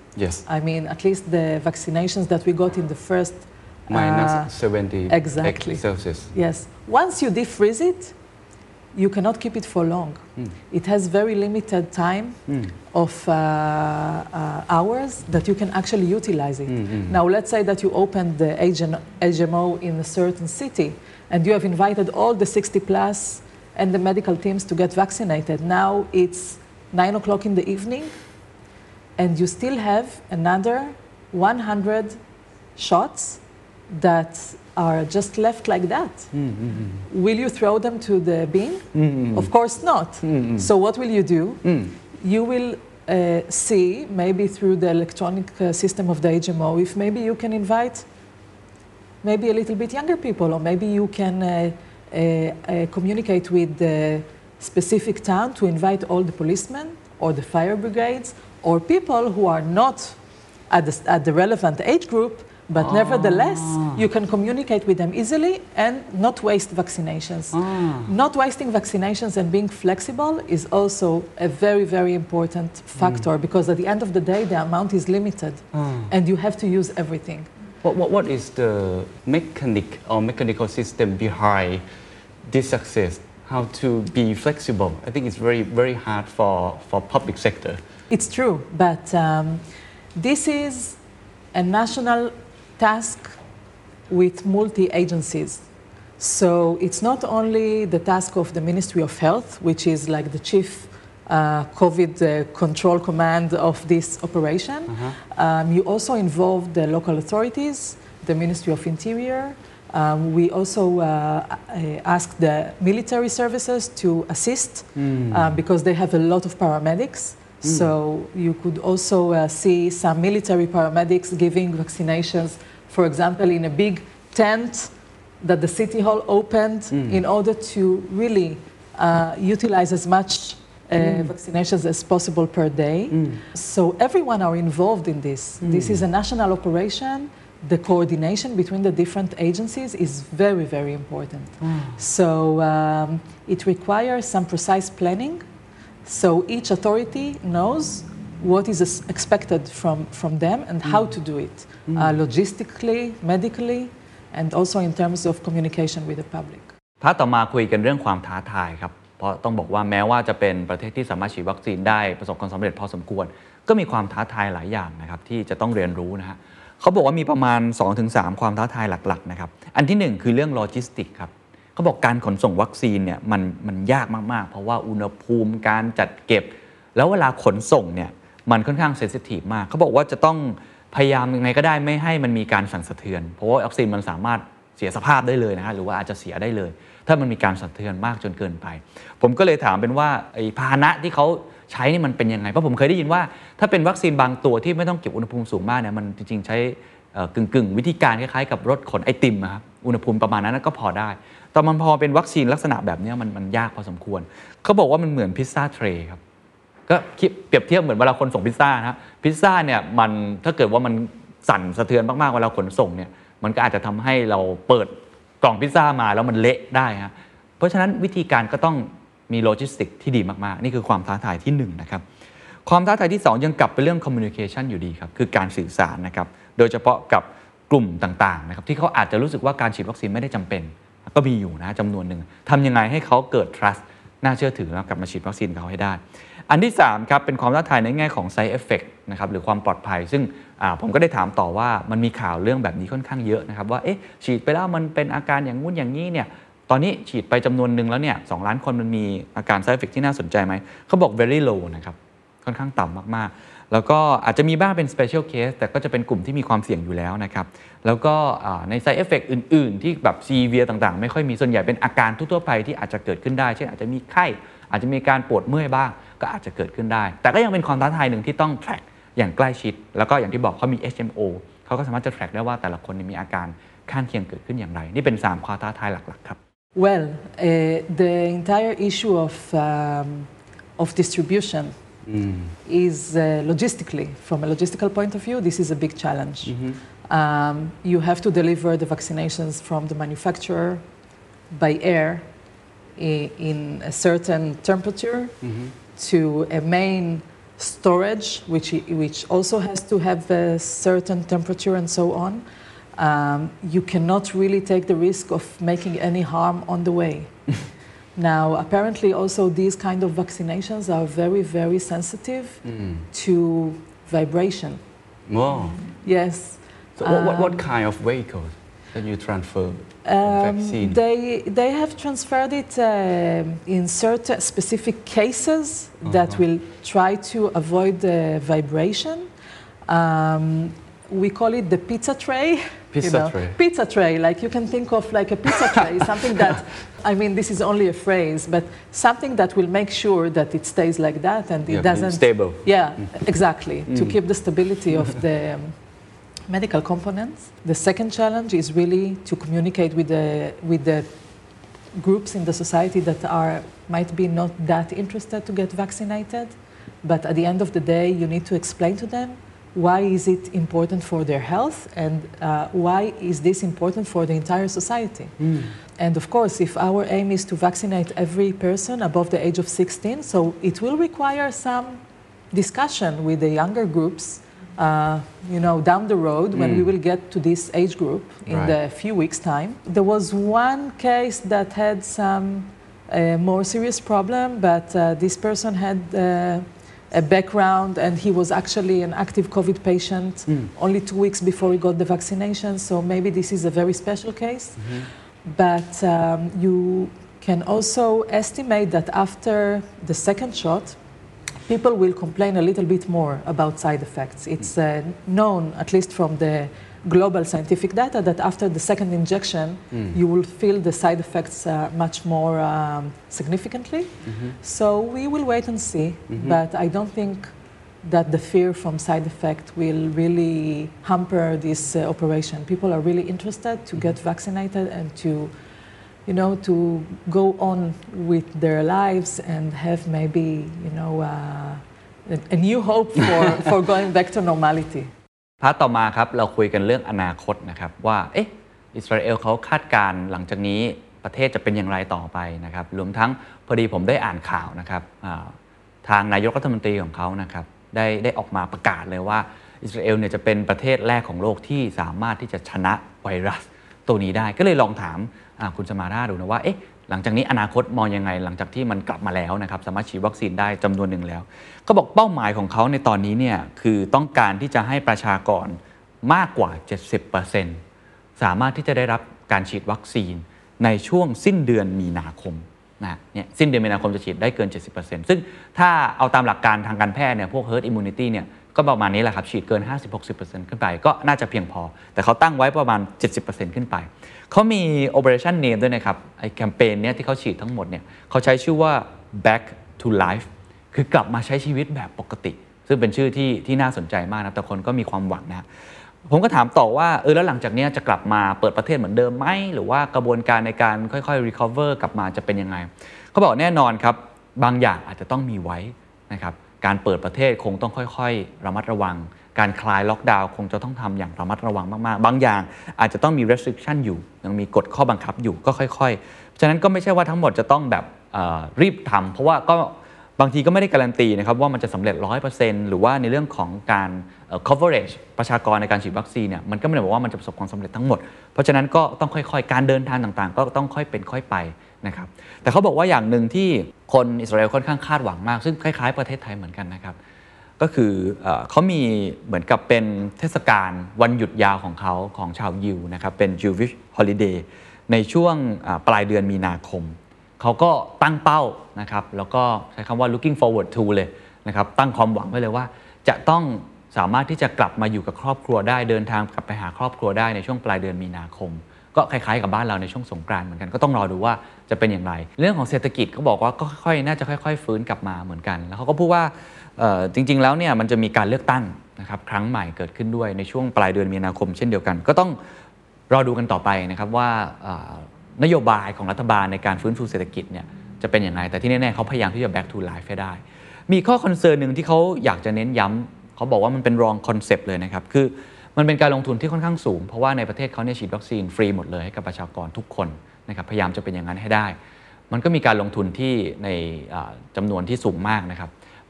Yes. I mean, at least the vaccinations that we got in the first minus 70 exactly. Celsius. Yes. Once you defreeze it, you cannot keep it for long. It has very limited time of hours that you can actually utilize it. Now, let's say that you opened the HMO in a certain city and you have invited all the 60 plus and the medical teams to get vaccinated. Now it's 9 o'clock in the evening and you still have another 100 shots that are just left like that. Will you throw them to the bin? Of course not. So what will you do? You will see, maybe through the electronic system of the HMO, if maybe you can invite maybe a little bit younger people, or maybe you can communicate with the specific town to invite all the policemen or the fire brigades or people who are not at the relevant age group, but nevertheless, you can communicate with them easily and not waste vaccinations. Not wasting vaccinations and being flexible is also a very, very important factor because at the end of the day, the amount is limited and you have to use everything. What is the mechanical system behind this success? How to be flexible? I think it's very, very hard for public sector. It's true, but this is a national task with multi-agencies. So it's not only the task of the Ministry of Health, which is like the chief COVID control command of this operation. You also involve the local authorities, the Ministry of Interior. We also ask the military services to assist because they have a lot of paramedics. So you could also see some military paramedics giving vaccinations, for example, in a big tent that the City Hall opened in order to really utilize as much vaccinations as possible per day. So everyone are involved in this. This is a national operation. The coordination between the different agencies is very, very important. So it requires some precise planning. So each authority knows what is expected from them and how to do it, logistically, medically, and also in terms of communication with the public. พาร์ทต่อมาคุยกันเรื่องความท้าทายครับเพราะต้องบอกว่าแม้ว่าจะเป็นประเทศที่สามารถฉีดวัคซีนได้ประสบความสำเร็จพอสมควรก็มีความท้าทายหลายอย่างนะครับที่จะต้องเรียนรู้นะฮะเขาบอกว่ามีประมาณ 2-3 ความท้าทายหลักๆนะครับอันที่1คือเรื่องโลจิสติกครับเขาบอกการขนส่งวัคซีนเนี่ยมันยากมากๆเพราะว่าอุณหภูมิการจัดเก็บแล้วเวลาขนส่งเนี่ยมันค่อนข้างเซนซิทีฟมากเขาบอกว่าจะต้องพยายามยังไงก็ได้ไม่ให้มันมีการสั่นสะเทือนเพราะว่าวัคซีนมันสามารถเสียสภาพได้เลยนะฮะหรือว่าอาจจะเสียได้เลยถ้ามันมีการสั่นสะเทือนมากจนเกินไปผมก็เลยถามเป็นว่าไอ้พาหนะที่เขาใช้นี่มันเป็นยังไงเพราะผมเคยได้ยินว่าถ้าเป็นวัคซีนบางตัวที่ไม่ต้องเก็บอุณหภูมิสูงมากเนี่ยมันจริงๆใช้กึ่งวิธีการคล้ายๆกับรถขนไอติมครับอุณหภูมิประมาณนั้นก็พอได้แต่มันพอเป็นวัคซีนลักษณะแบบนี้มันยากพอสมควรเขาบอกว่ามันเหมือนพิซซ่าเทรย์ครับก็เปรียบเทียบเหมือนเวลาคนส่งพิซซ่านะพิซซ่าเนี่ยมันถ้าเกิดว่ามันสั่นสะเทือนมากๆเวลาขนส่งเนี่ยมันก็อาจจะทำให้เราเปิดกล่องพิซซ่ามาแล้วมันเละได้ฮะเพราะฉะนั้นวิธีการก็ต้องมีโลจิสติกที่ดีมากๆนี่คือความท้าทายที่1นะครับความท้าทายที่2ยังกลับไปเรื่องคอมมิวนิเคชันอยู่ดีครับคือการสื่อสารนะครับโดยเฉพาะกับกลุ่มต่างๆนะครับที่เขาอาจจะรู้สึกว่าการฉีดวัคซีนไม่ได้จำเป็นก็มีอยู่นะจำนวนหนึ่งทำยังไงให้เขาเกิด trust น่าเชื่อถือแล้วกลับมาฉีดวัคซีนเขาให้ได้อันที่3ครับเป็นความท้าทายในแง่ของ side effect นะครับหรือความปลอดภัยซึ่งผมก็ได้ถามต่อว่ามันมีข่าวเรื่องแบบนี้ค่อนข้างเยอะนะครับว่าฉีดไปแล้วมันเป็นอาการอย่างงู้นอย่างนี้เนี่ยตอนนี้ฉีดไปจำนวนหนึ่งแล้วเนี่ย2 ล้านคนมันมีอาการ side effect ที่น่าสนใจไหมเขาบอก very low นะครับค่อนข้างต่ำมากๆแล้วก็อาจจะมีบ้างเป็น special case แต่ก็จะเป็นกลุ่มที่มีความเสี่ยงอยู่แล้วนะครับแล้วก็ใน side effect อื่นๆที่แบบ severe ต่างๆไม่ค่อยมีส่วนใหญ่เป็นอาการทั่วๆไปที่อาจจะเกิดขึ้นได้เช่นอาจจะมีไข้อาจจะมีการปวดเมื่อยบ้างก็อาจจะเกิดขึ้นได้แต่ก็ยังเป็นความท้าทายหนึ่งที่ต้อง track อย่างใกล้ชิดแล้วก็อย่างที่บอกเขามี HMO เขาก็สามารถจะ track ได้ว่าแต่ละคนมีอาการข้างเคียงเกิดขึ้นอย่างไรนี่เป็น3ความท้าทายหลักๆครับ Well, the entire issue of distribution is logistically, from a logistical point of view, this is a big challenge. You have to deliver the vaccinations from the manufacturer by air in a certain temperature to a main storage, which also has to have a certain temperature and so on. You cannot really take the risk of making any harm on the way. Now, apparently also these kind of vaccinations are very, very sensitive to vibration. Wow. Yes. So what kind of vehicles that you transfer vaccine? They have transferred it in certain specific cases that will try to avoid the vibration. We call it the pizza tray. Pizza tray, like you can think of like a pizza tray, something that, I mean, this is only a phrase, but something that will make sure that it stays like that and it doesn't... Stable. Yeah, exactly, to keep the stability of the medical components. The second challenge is really to communicate with the groups in the society that might be not that interested to get vaccinated, but at the end of the day, you need to explain to them why is it important for their health and why is this important for the entire society. And of course, if our aim is to vaccinate every person above the age of 16, so it will require some discussion with the younger groups, down the road when we will get to this age group in the few weeks' time. There was one case that had some more serious problem, but this person had a background and he was actually an active COVID patient only 2 weeks before he got the vaccination, so maybe this is a very special case. But you can also estimate that after the second shot, people will complain a little bit more about side effects. It's known, at least from the global scientific data, that after the second injection, you will feel the side effects much more significantly. So we will wait and see, but I don't think that the fear from side effect will really hamper this operation. People are really interested to get vaccinated and to go on with their lives and have maybe, a new hope for going back to normality. พาร์ทต่อมาครับเราคุยกันเรื่องอนาคตนะครับว่าอิสราเอลเขาคาดการณ์หลังจากนี้ประเทศจะเป็นอย่างไรต่อไปนะครับรวมทั้งพอดีผมได้อ่านข่าวนะครับทางนายกรัฐมนตรีของเขานะครับได้ออกมาประกาศเลยว่าอิสราเอลเนี่ยจะเป็นประเทศแรกของโลกที่สามารถที่จะชนะไวรัสตัวนี้ได้ก็เลยลองถามคุณสมาราดูนะว่าหลังจากนี้อนาคตมองยังไงหลังจากที่มันกลับมาแล้วนะครับสามารถฉีดวัคซีนได้จำนวนหนึ่งแล้วก็บอกเป้าหมายของเขาในตอนนี้เนี่ยคือต้องการที่จะให้ประชากรมากกว่า 70% สามารถที่จะได้รับการฉีดวัคซีนในช่วงสิ้นเดือนมีนาคมเนี่ยสิ้นเดือนมีนาคมจะฉีดได้เกิน 70% ซึ่งถ้าเอาตามหลักการทางการแพทย์เนี่ยพวก herd immunity เนี่ยก็ประมาณนี้แหละครับฉีดเกิน 50-60% ขึ้นไปก็น่าจะเพียงพอแต่เขาตั้งไว้ประมาณ 70% ขึ้นไปเขามี operation name ด้วยนะครับไอ้แคมเปญเนี่ยที่เขาฉีดทั้งหมดเนี่ยเขาใช้ชื่อว่า back to life คือกลับมาใช้ชีวิตแบบปกติซึ่งเป็นชื่อที่น่าสนใจมากนะแต่คนก็มีความหวังนะผมก็ถามต่อว่าแล้วหลังจากนี้จะกลับมาเปิดประเทศเหมือนเดิมไหมหรือว่ากระบวนการในการค่อยๆ recover กลับมาจะเป็นยังไงเขาบอกแน่นอนครับบางอย่างอาจจะต้องมีไว้นะครับการเปิดประเทศคงต้องค่อยๆระมัดระวังการคลายล็อกดาวน์คงจะต้องทำอย่างระมัดระวังมากๆบางอย่างอาจจะต้องมี restriction อยู่ยังมีกฎข้อบังคับอยู่ก็ค่อยๆฉะนั้นก็ไม่ใช่ว่าทั้งหมดจะต้องแบบรีบทำเพราะว่าก็บางทีก็ไม่ได้การันตีนะครับว่ามันจะสำเร็จ 100% หรือว่าในเรื่องของการ coverage ประชากรในการฉีดวัคซีนเนี่ยมันก็ไม่ได้บอกว่ามันจะประสบความสำเร็จทั้งหมดเพราะฉะนั้นก็ต้องค่อยๆการเดินทางต่างๆก็ต้องค่อยเป็นค่อยไปนะครับแต่เขาบอกว่าอย่างหนึ่งที่คนอิสราเอลค่อนข้างคาดหวังมากซึ่งคล้ายๆประเทศไทยเหมือนกันนะครับก็คือเขามีเหมือนกับเป็นเทศกาลวันหยุดยาวของเขาของชาวยิวนะครับเป็น Jewish Holiday ในช่วงปลายเดือนมีนาคมเขาก็ตั้งเป้านะครับแล้วก็ใช้คำว่า looking forward to เลยนะครับตั้งความหวังไว้เลยว่าจะต้องสามารถที่จะกลับมาอยู่กับครอบครัวได้เดินทางกลับไปหาครอบครัวได้ในช่วงปลายเดือนมีนาคมก็คล้ายๆกับบ้านเราในช่วงสงกรานต์เหมือนกันก็ต้องรอดูว่าจะเป็นอย่างไรเรื่องของเศรษฐกิจเขาบอกว่าก็น่าจะค่อยๆฟื้นกลับมาเหมือนกันแล้วเขาก็พูดว่าจริงๆแล้วเนี่ยมันจะมีการเลือกตั้งนะครับครั้งใหม่เกิดขึ้นด้วยในช่วงปลายเดือนมีนาคมเช่นเดียวกันก็ต้องรอดูกันต่อไปนะครับว่านโยบายของรัฐบาลในการฟื้นฟูเศรษฐกิจเนี่ยจะเป็นอย่างไรแต่ที่แน่ๆเขาพยายามที่จะ back to life ให้ได้มีข้อคอนเซิร์นหนึ่งที่เขาอยากจะเน้นย้ำเขาบอกว่ามันเป็น wrong concept เลยนะครับคือมันเป็นการลงทุนที่ค่อนข้างสูงเพราะว่าในประเทศเขาเนี่ยฉีดวัคซีนฟรีหมดเลยให้กับประชากรทุกคนนะครับพยายามจะเป็นอย่างนั้นให้ได้มันก็มีการลงทุนที่ในจำนวนที่สูงมากนะครับ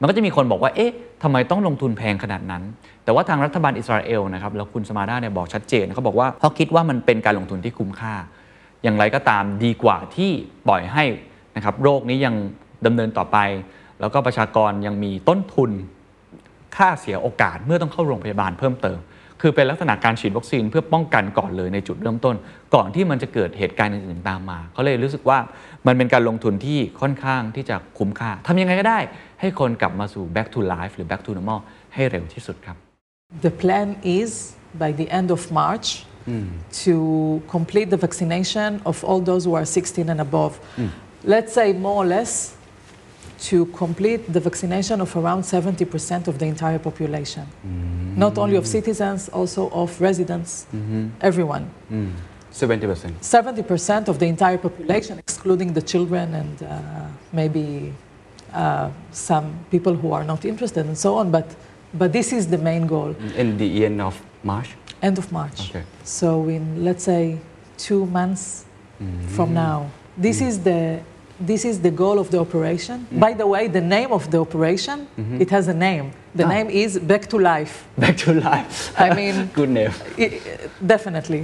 มันก็จะมีคนบอกว่าเอ๊ะทำไมต้องลงทุนแพงขนาดนั้นแต่ว่าทางรัฐบาลอิสราเอลนะครับแล้วคุณสมาดาเนี่ยบอกชัดเจนเขาบอกว่าเขาคิดว่ามันเป็นการลงทุนที่คุ้มค่าอย่างไรก็ตามดีกว่าที่ปล่อยให้นะครับโรคนี้ยังดำเนินต่อไปแล้วก็ประชากรยังมีต้นทุนค่าเสียโอกาสเมื่อต้องเข้าโรงพยาบาลเพิ่มเติมคือเป็นลักษณะการฉีดวัคซีนเพื่อป้องกันก่อนเลยในจุดเริ่มต้นก่อนที่มันจะเกิดเหตุการณ์อื่นๆตามมาเขาเลยรู้สึกว่ามันเป็นการลงทุนที่ค่อนข้างที่จะคุ้มค่าทำยังไงก็ได้ให้คนกลับมาสู่ back to life หรือ back to normal ให้เร็วที่สุดครับ The plan is by the end of March to complete the vaccination of all those who are 16 and above. Let's say more or less to complete the vaccination of around 70% of the entire population. Not only of citizens, also of residents, everyone. 70%. 70% of the entire population, excluding the children and maybe some people who are not interested and so on. But this is the main goal. In the end of March? End of March. Okay. So in, let's say, 2 months from now. This is the goal of the operation. By the way, the name of the operation, it has a name. The name is Back to Life. Back to life. I mean, good name. Definitely.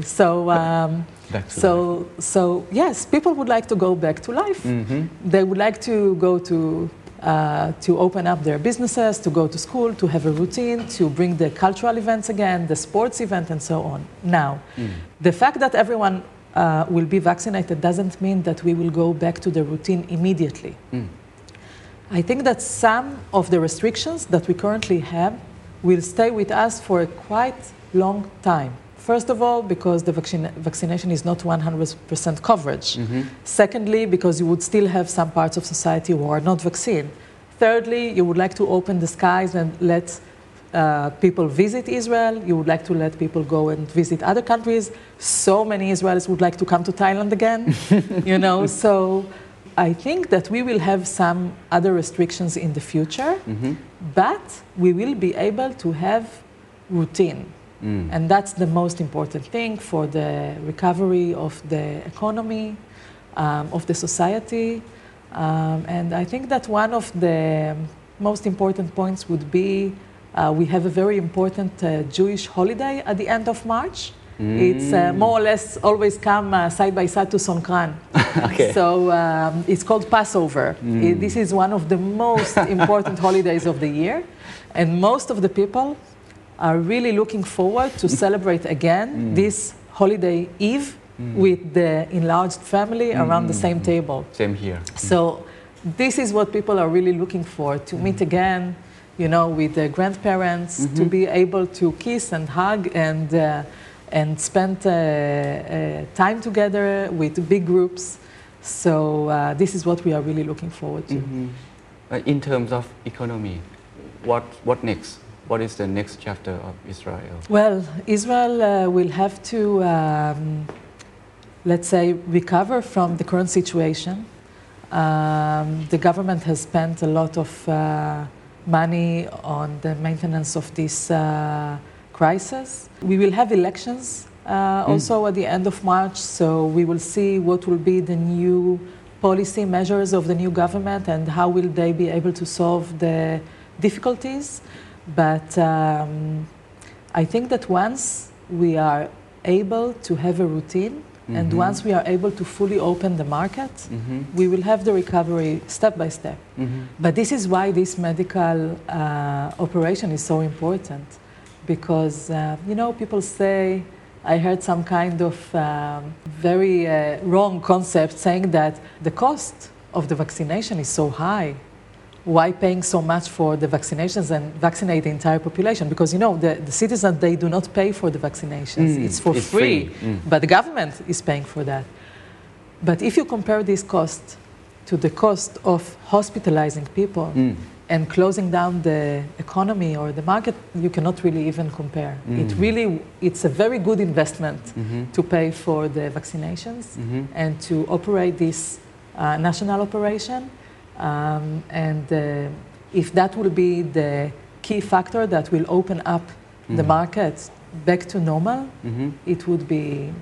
So yes, people would like to go back to life. They would like to go to open up their businesses, to go to school, to have a routine, to bring the cultural events again, the sports event, and so on. Now, the fact that everyone will be vaccinated doesn't mean that we will go back to the routine immediately. I think that some of the restrictions that we currently have will stay with us for a quite long time. First of all, because the vaccination is not 100% coverage. Secondly, because you would still have some parts of society who are not vaccinated. Thirdly, you would like to open the skies and let people visit Israel. You would like to let people go and visit other countries. So many Israelis would like to come to Thailand again, you know. So I think that we will have some other restrictions in the future, but we will be able to have routine. And that's the most important thing for the recovery of the economy, of the society. And I think that one of the most important points would be we have a very important Jewish holiday at the end of March. It's more or less always come side by side to Songkran. Okay. So it's called Passover. This is one of the most important holidays of the year. And most of the people are really looking forward to celebrate again this holiday eve with the enlarged family around the same table. Same here. So this is what people are really looking for, to meet again, you know, with their grandparents, to be able to kiss and hug and spend time together with big groups. So this is what we are really looking forward to. In terms of economy, what next? What is the next chapter of Israel? Well, Israel will have to, let's say, recover from the current situation. The government has spent a lot of money on the maintenance of this crisis. We will have elections also at the end of March, so we will see what will be the new policy measures of the new government and how will they be able to solve the difficulties. But I think that once we are able to have a routine and once we are able to fully open the market, we will have the recovery step by step. But this is why this medical operation is so important. Because, you know, people say, I heard some kind of very wrong concept saying that the cost of the vaccination is so high. Why paying so much for the vaccinations and vaccinate the entire population? Because, you know, the citizens, they do not pay for the vaccinations. It's for free. But the government is paying for that. But if you compare this cost to the cost of hospitalizing people and closing down the economy or the market, you cannot really even compare. It's a very good investment to pay for the vaccinations and to operate this national operation. And if that will be the key factor that will open up the markets back to normal, it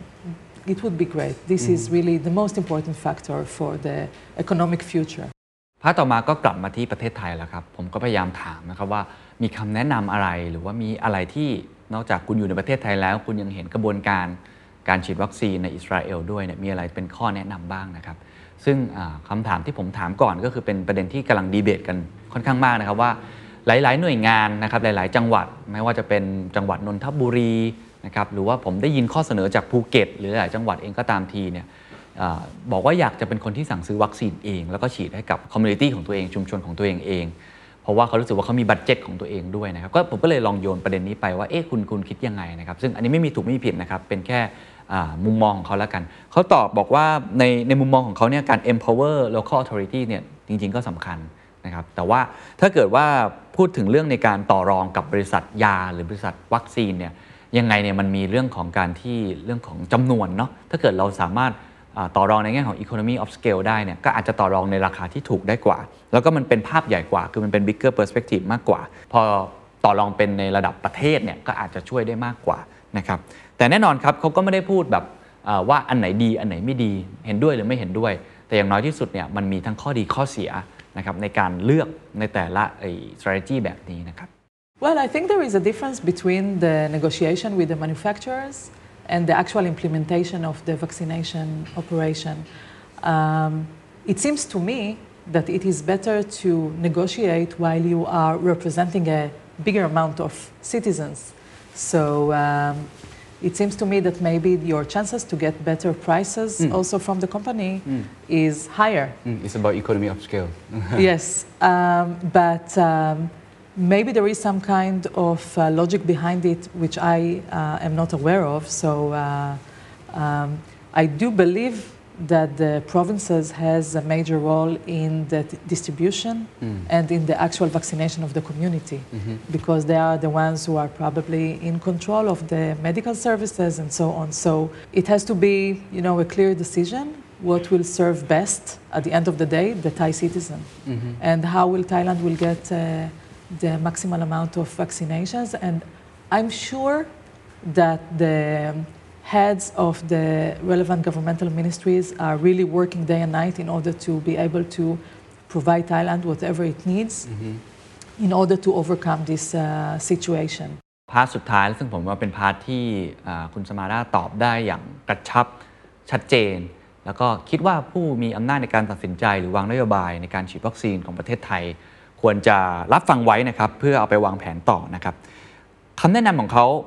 would be great. This is really the most important factor for the economic future. พาร์ทต่อมาก็กลับมาที่ประเทศไทยแล้วครับผมก็พยายามถามนะครับว่ามีคำแนะนำอะไรหรือว่ามีอะไรที่นอกจากคุณอยู่ในประเทศไทยแล้วคุณยังเห็นกระบวนการฉีดวัคซีนในอิสราเอลด้วยเนี่ยมีอะไรเป็นข้อแนะนำบ้างนะครับซึ่งคำถามที่ผมถามก่อนก็คือเป็นประเด็นที่กำลังดีเบตกันค่อนข้างมากนะครับว่าหลายๆหน่วยงานนะครับหลายๆจังหวัดไม่ว่าจะเป็นจังหวัดนนทบุรีนะครับหรือว่าผมได้ยินข้อเสนอจากภูเก็ตหรือหลายจังหวัดเองก็ตามทีเนี่ยบอกว่าอยากจะเป็นคนที่สั่งซื้อวัคซีนเองแล้วก็ฉีดให้กับคอมมูนิตี้ของตัวเองชุมชนของตัวเองเพราะว่าเขารู้สึกว่าเขามีบัดเจ็ตของตัวเองด้วยนะครับก็ผมก็เลยลองโยนประเด็นนี้ไปว่าคุณคิดยังไงนะครับซึ่งอันนี้ไม่มีถูกไม่มีผิดนะครับเป็นแค่มุมมองของเขาแล้วกันเขาตอบบอกว่าในมุมมองของเขาเนี่ยการ empower local authority เนี่ยจริงๆก็สำคัญนะครับแต่ว่าถ้าเกิดว่าพูดถึงเรื่องในการต่อรองกับบริษัทยาหรือบริษัทวัคซีนเนี่ยยังไงเนี่ยมันมีเรื่องของการที่เรื่องของจำนวนเนาะถ้าเกิดเราสามารถต่อรองในแง่ของ economy of scale ได้เนี่ยก็อาจจะต่อรองในราคาที่ถูกได้กว่าแล้วก็มันเป็นภาพใหญ่กว่าคือมันเป็น bigger perspective มากกว่าพอต่อรองเป็นในระดับประเทศเนี่ยก็อาจจะช่วยได้มากกว่านะครับแต่แน่นอนครับเขาก็ไม่ได้พูดแบบว่าอันไหนดีอันไหนไม่ดีเห็นด้วยหรือไม่เห็นด้วยแต่อย่างน้อยที่สุดเนี่ยมันมีทั้งข้อดีข้อเสียนะครับในการเลือกในแต่ละstrategy แบบนี้นะครับ Well, I think there is a difference between the negotiation with the manufacturers and the actual implementation of the vaccination operation. It seems to me that it is better to negotiate while you are representing a bigger amount of citizens. So it seems to me that maybe your chances to get better prices also from the company is higher. It's about economy of scale. Yes, but maybe there is some kind of logic behind it which I am not aware of. So I do believe that the provinces has a major role in the distribution and in the actual vaccination of the community because they are the ones who are probably in control of the medical services and so on. So it has to be, a clear decision what will serve best at the end of the day, the Thai citizen, and how will Thailand will get the maximal amount of vaccinations. And I'm sure that the heads of the relevant governmental ministries are really working day and night in order to be able to provide Thailand whatever it needs in order to overcome this situation. พาร์ทสุดท้ายซึ่งผมว่าเป็นพาร์ทที่คุณสมาราตอบได้อย่างกระชับชัดเจนแล้วก็คิดว่าผู้มีอำนาจในการตัดสินใจหรือวางนโยบายในการฉีดวัคซีนของประเทศไทยควรจะรับฟังไว้นะครับเพื่อเอาไปวางแผนต่อนะครับคำแนะนำของเขา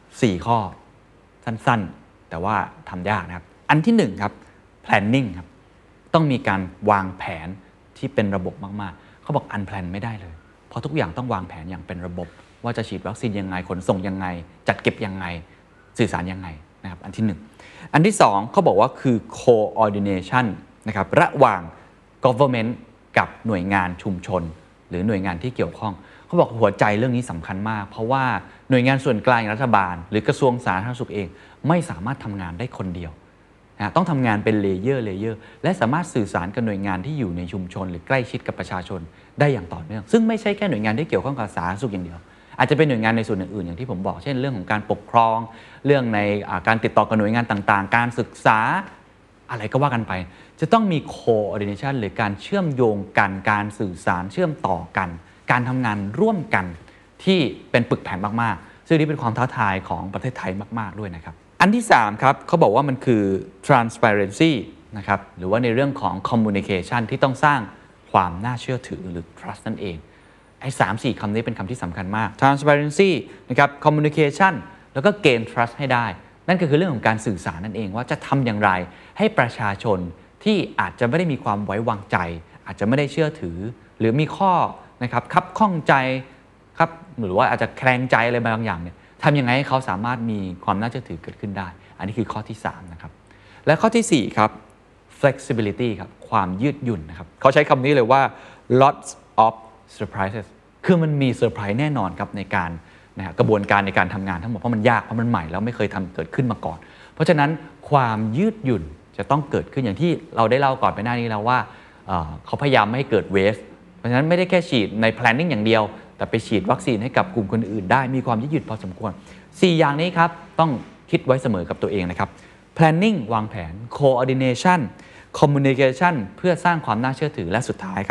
4ข้อสั้นๆแต่ว่าทำยากนะครับอันที่1ครับ planning ครับต้องมีการวางแผนที่เป็นระบบมากๆเขาบอก unplan ไม่ได้เลยเพราะทุกอย่างต้องวางแผนอย่างเป็นระบบว่าจะฉีดวัคซีนยังไงขนส่งยังไงจัดเก็บยังไงสื่อสารยังไงนะครับอันที่1อันที่2เขาบอกว่าคือ coordination นะครับระหว่าง government กับหน่วยงานชุมชนหรือหน่วยงานที่เกี่ยวข้องเขาบอกหัวใจเรื่องนี้สำคัญมากเพราะว่าหน่วยงานส่วนกลางรัฐบาลหรือกระทรวงสาธารณสุขเองไม่สามารถทำงานได้คนเดียวนะต้องทำงานเป็นเลเยอร์และสามารถสื่อสารกับหน่วยงานที่อยู่ในชุมชนหรือใกล้ชิดกับประชาชนได้อย่างต่อเนื่องซึ่งไม่ใช่แค่หน่วยงานที่เกี่ยวข้องกับสาธารณสุขอย่างเดียวอาจจะเป็นหน่วยงานในส่วนอื่นๆอย่างที่ผมบอกเช่นเรื่องของการปกครองเรื่องในการติดต่อกับหน่วยงานต่างๆการศึกษาอะไรก็ว่ากันไปจะต้องมี coordination หรือการเชื่อมโยงกันการสื่อสารเชื่อมต่อกันการทำงานร่วมกันที่เป็นปึกแผ่นมากๆซึ่งนี่เป็นความท้าทายของประเทศไทยมากๆด้วยนะครับอันที่3ครับเขาบอกว่ามันคือ transparency นะครับหรือว่าในเรื่องของ communication ที่ต้องสร้างความน่าเชื่อถือหรือ trust นั่นเองไอ้ 3-4 คำนี้เป็นคำที่สำคัญมาก transparency นะครับ communication แล้วก็ gain trust ให้ได้นั่นก็คือเรื่องของการสื่อสารนั่นเองว่าจะทำอย่างไรให้ประชาชนที่อาจจะไม่ได้มีความไว้วางใจอาจจะไม่ได้เชื่อถือหรือมีข้อนะครับคับข้องใจครับหรือว่าอาจจะแคลงใจอะไรบางอย่างเนี่ยทำยังไงให้เขาสามารถมีความน่าเชื่อถือเกิดขึ้นได้อันนี้คือข้อที่3นะครับและข้อที่4ครับ flexibility ครับความยืดหยุ่นนะครับเขาใช้คำนี้เลยว่า lots of surprises คือมันมีเซอร์ไพรส์แน่นอนครับในการกระบวนการในการทำงานทั้งหมดเพราะมันยากเพราะมันใหม่แล้วไม่เคยทำเกิดขึ้นมาก่อนเพราะฉะนั้นความยืดหยุ่นจะต้องเกิดขึ้นอย่างที่เราได้เล่าก่อนไปหน้านี้แล้วว่าเขาพยายามไม่ให้เกิด waste เพราะฉะนั้นไม่ได้แค่ฉีดใน planning อย่างเดียวแต่ไปฉีดวัคซีนให้กับกลุ่มคนอื่นได้มีความยืดหยุ่นพอสมควร4อย่างนี้ครับต้องคิดไว้เสมอกับตัวเองนะครับ planning วางแผน coordination communication เพื่อสร้างความน่าเชื่อถือและสุดท้ายครับ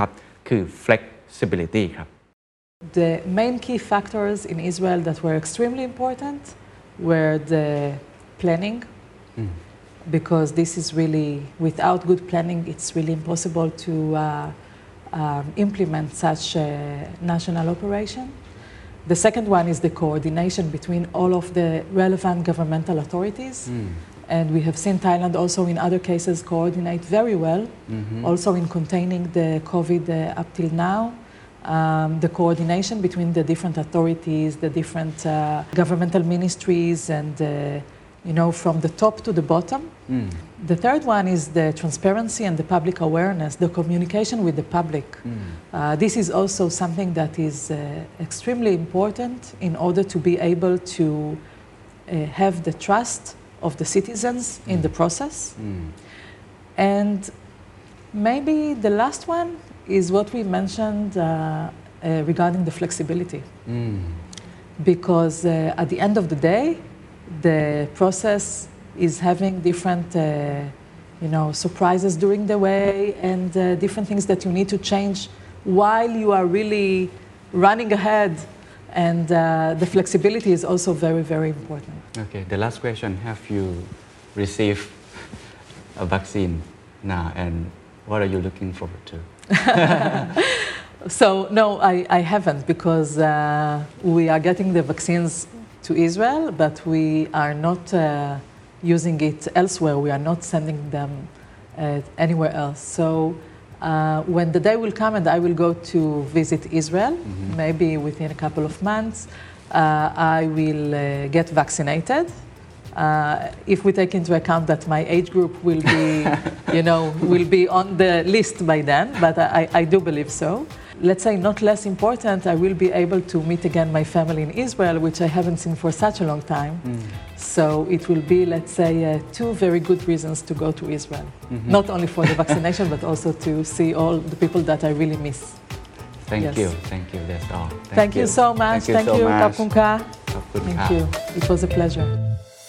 คือ flexibility ครับ The main key factors in Israel that were extremely important were the planning, because this is really, without good planning, it's really impossible to implement such a national operation. The second one is the coordination between all of the relevant governmental authorities. And we have seen Thailand also in other cases coordinate very well, also in containing the COVID up till now. The coordination between the different authorities, the different governmental ministries, and from the top to the bottom. The third one is the transparency and the public awareness, the communication with the public. This is also something that is extremely important in order to be able to have the trust of the citizens in the process. And maybe the last one is what we mentioned regarding the flexibility. Because at the end of the day, the process is having different surprises during the way, and different things that you need to change while you are really running ahead. And the flexibility is also very, very important. Okay, the last question, have you received a vaccine now, and what are you looking forward to? So, no, I haven't, because we are getting the vaccines to Israel, but we are not using it elsewhere. We are not sending them anywhere else. So when the day will come and I will go to visit Israel, maybe within a couple of months, I will get vaccinated. If we take into account that my age group will be, will be on the list by then, but I do believe so. Let's say not less important, I will be able to meet again my family in Israel, which I haven't seen for such a long time. So it will be, let's say, two very good reasons to go to Israel. Not only for the vaccination, but also to see all the people that I really miss. Thank you. That's all. Thank you so much. Thank you, so much. Kapkunka. Kapkunka. Thank you. It was a pleasure.